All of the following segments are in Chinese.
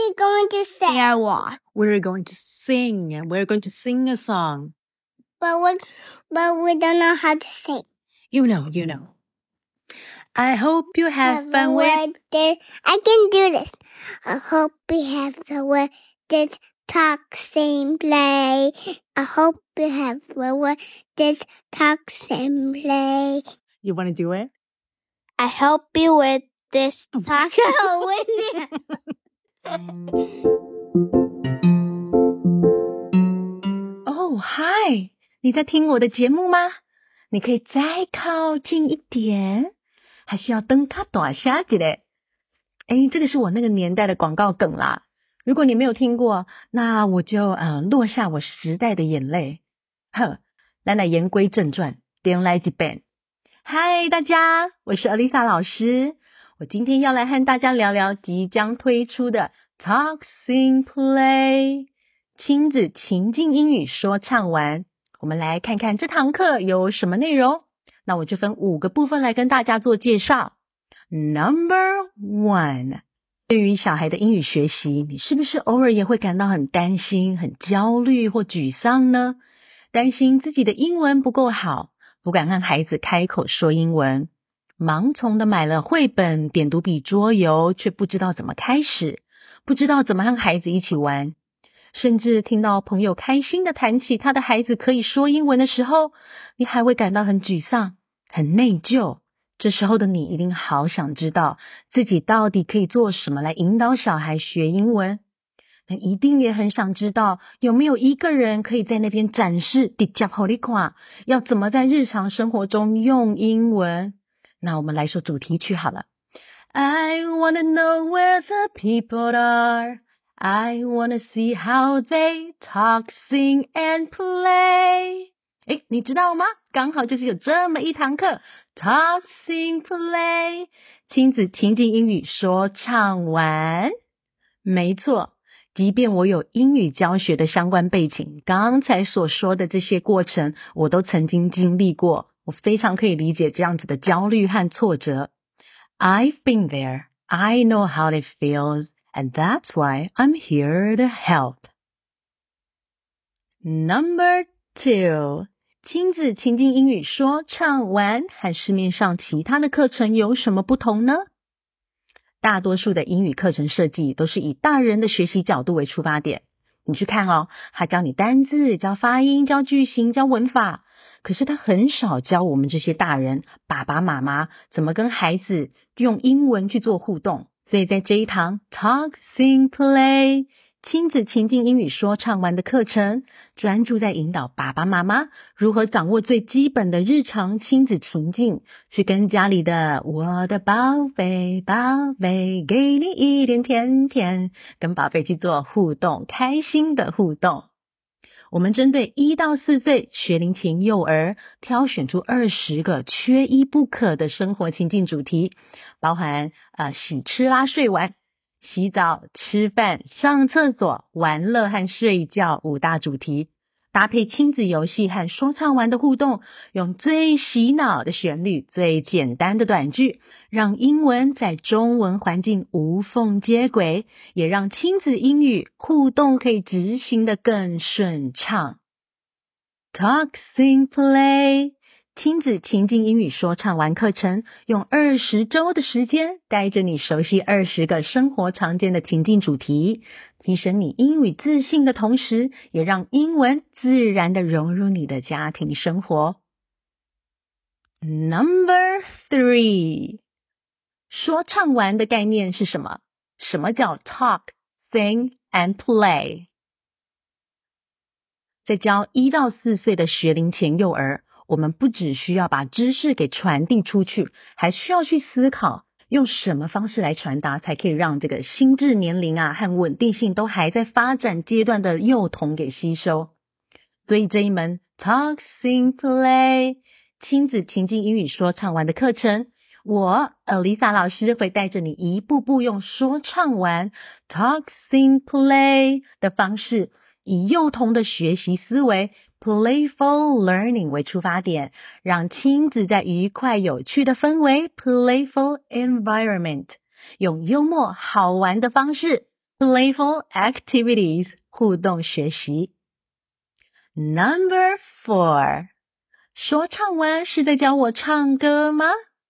we going to say? Yeah, what? We're going to sing. We're going to sing a song. But we don't know how to sing. You know. I hope you have fun with this. I can do this. I hope you have fun with this talk, sing, play. I hope you have fun with this talk, sing, play. You want to do it? I help you with this talk. Oh, hi， 你在听我的节目吗？你可以再靠近一点，还是要等它大下去嘞？这个是我那个年代的广告梗啦。如果你没有听过，那我就落下我时代的眼泪。咱来言归正传，点来一遍。嗨，大家，我是 Alisa 老师。我今天要来和大家聊聊即将推出的 Talk Sing Play 亲子情境英语说唱玩。我们来看看这堂课有什么内容。那我就分5个部分来跟大家做介绍。Number 1， 对于小孩的英语学习，你是不是偶尔也会感到很担心、很焦虑或沮丧呢？担心自己的英文不够好，不敢和孩子开口说英文，盲从的买了绘本、点读笔、桌游，却不知道怎么开始，不知道怎么和孩子一起玩。甚至听到朋友开心的谈起他的孩子可以说英文的时候，你还会感到很沮丧、很内疚。这时候的你一定好想知道自己到底可以做什么来引导小孩学英文。那一定也很想知道有没有一个人可以在那边展示直接给你看要怎么在日常生活中用英文。那我们来说主题曲好了。I wanna know where the people are.I wanna see how they talk, sing and play. 你知道吗？刚好就是有这么一堂课 Talk, sing, play 亲子情境英语说唱玩。没错，即便我有英语教学的相关背景，刚才所说的这些过程我都曾经经历过，我非常可以理解这样子的焦虑和挫折。I've been there. I know how it feels.And that's why I'm here to help. Number 2， 亲子情境英语说唱玩和市面上其他的课程有什么不同呢？大多数的英语课程设计都是以大人的学习角度为出发点。你去看他教你单字、教发音、教句型、教文法，可是他很少教我们这些大人、爸爸妈妈怎么跟孩子用英文去做互动。所以在这一堂 Talk, Sing, Play 亲子情境英语说唱玩的课程，专注在引导爸爸妈妈如何掌握最基本的日常亲子情境，去跟家里的我的宝贝宝贝给你一点甜甜，跟宝贝去做互动，开心的互动。我们针对1到4岁学龄前幼儿挑选出20个缺一不可的生活情境主题，包含洗吃拉睡玩、洗澡、吃饭、上厕所、玩乐和睡觉5大主题，搭配亲子游戏和说唱玩的互动，用最洗脑的旋律、最简单的短句，让英文在中文环境无缝接轨，也让亲子英语互动可以执行得更顺畅。Talk, Sing, Play 亲子情境英语说唱玩课程，用20周的时间带着你熟悉20个生活常见的情境主题，提升你英语自信的同时，也让英文自然地融入你的家庭生活。Number 3， 说唱玩的概念是什么？什么叫 Talk, Sing and Play？ 在教1到4岁的学龄前幼儿，我们不只需要把知识给传递出去，还需要去思考用什么方式来传达，才可以让这个心智年龄和稳定性都还在发展阶段的幼童给吸收。所以这一门 Talk, Sing, Play 亲子情境英语说唱玩的课程，我 Alisa 老师会带着你一步步用说唱玩 Talk, Sing, Play 的方式，以幼童的学习思维Playful learning 为出发点，让亲子在愉快有趣的氛围 Playful environment， 用幽默好玩的方式 playful activities 互动学习。Number 4， 说唱完是在教我唱歌吗？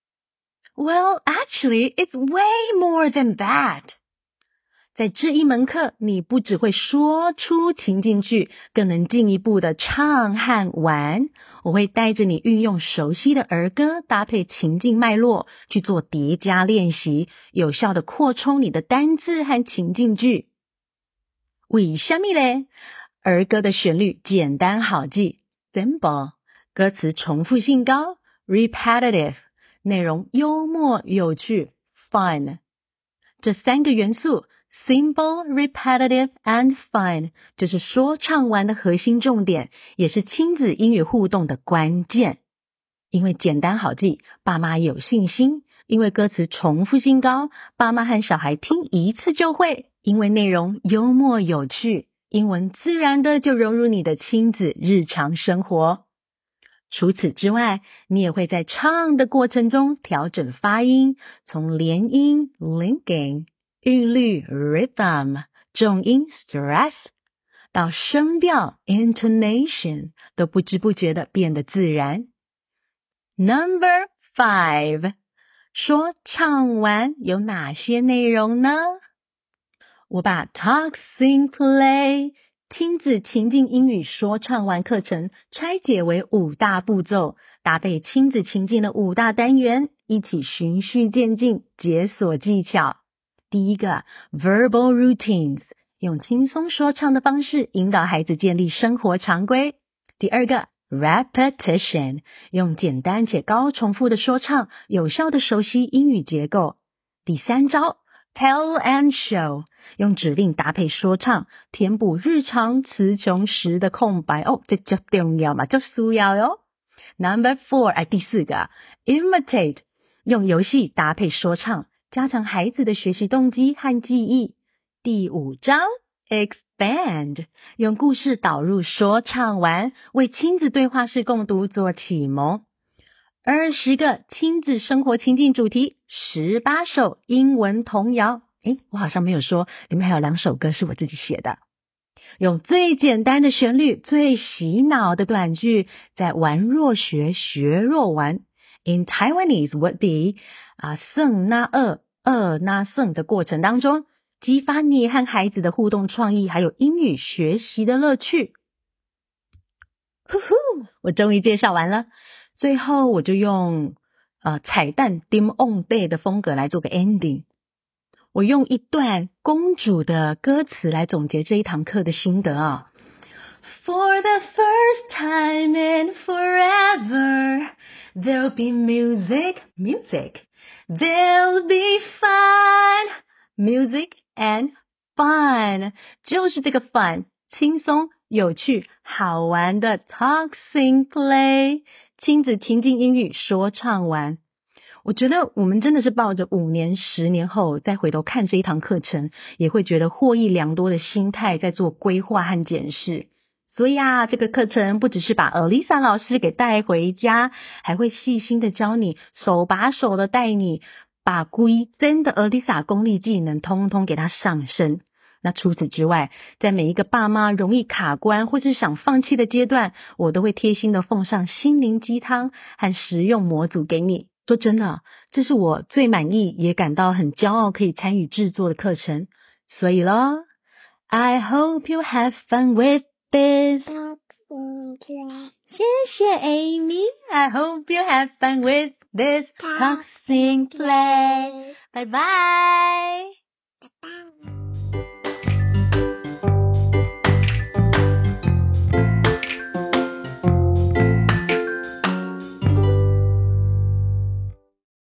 Well, actually, it's way more than that. 在这一门课，你不只会说出情境句，更能进一步的唱和玩。我会带着你运用熟悉的儿歌，搭配情境脉络去做叠加练习，有效的扩充你的单字和情境句。为什么呢？儿歌的旋律简单好记 simple， 歌词重复性高 repetitive， 内容幽默有趣 fun。 这3个元素Simple, repetitive, and fun 就是说唱完的核心重点，也是亲子英语互动的关键。因为简单好记，爸妈有信心；因为歌词重复性高，爸妈和小孩听一次就会；因为内容幽默有趣，英文自然的就融入你的亲子日常生活。除此之外，你也会在唱的过程中调整发音，从连音 linking，韵律 rhythm， 重音 stress， 到声调 intonation， 都不知不觉的变得自然。Number 5， 说唱完有哪些内容呢？我把 Talk Sing Play 亲子情境英语说唱完课程拆解为5大步骤，搭配亲子情境的5大单元，一起循序渐进，解锁技巧。第一个 verbal routines， 用轻松说唱的方式引导孩子建立生活常规。第二个 repetition， 用简单且高重复的说唱有效的熟悉英语结构。第三招 tell and show， 用指令搭配说唱填补日常词穷时的空白。这就重要嘛，就需要哟。Number 4， 第四个 imitate， 用游戏搭配说唱加强孩子的学习动机和记忆。第5章 expand， 用故事导入说唱完，为亲子对话式共读做启蒙。20个亲子生活情境主题，18首英文童谣。我好像没有说，里面还有2首歌是我自己写的。用最简单的旋律，最洗脑的短句，在玩若学，学若玩。In Taiwanese would be胜那二，二那胜的过程当中，激发你和孩子的互动创意，还有英语学习的乐趣。我终于介绍完了，最后我就用彩蛋 dim on day 的风格来做个 ending。我用一段公主的歌词来总结这一堂课的心得啊。For the first time in forever, there'll be music. There'll be fun. Music and fun. 就是这个 fun， 轻松、有趣、好玩的 talk, sing, play， 亲子情境英语说唱完。我觉得我们真的是抱着5年、10年后再回头看这一堂课程，也会觉得获益良多的心态在做规划和检视。所以这个课程不只是把 Elisa 老师给带回家，还会细心的教你，手把手的带你，把规真的 Elisa 功力技能通通给它上升。那除此之外，在每一个爸妈容易卡关或是想放弃的阶段，我都会贴心的奉上心灵鸡汤和实用模组给你。说真的，这是我最满意也感到很骄傲可以参与制作的课程。所以咯 I hope you have fun with this. 谢谢 Amy. I hope you have fun with this talk, sing, play. Bye bye.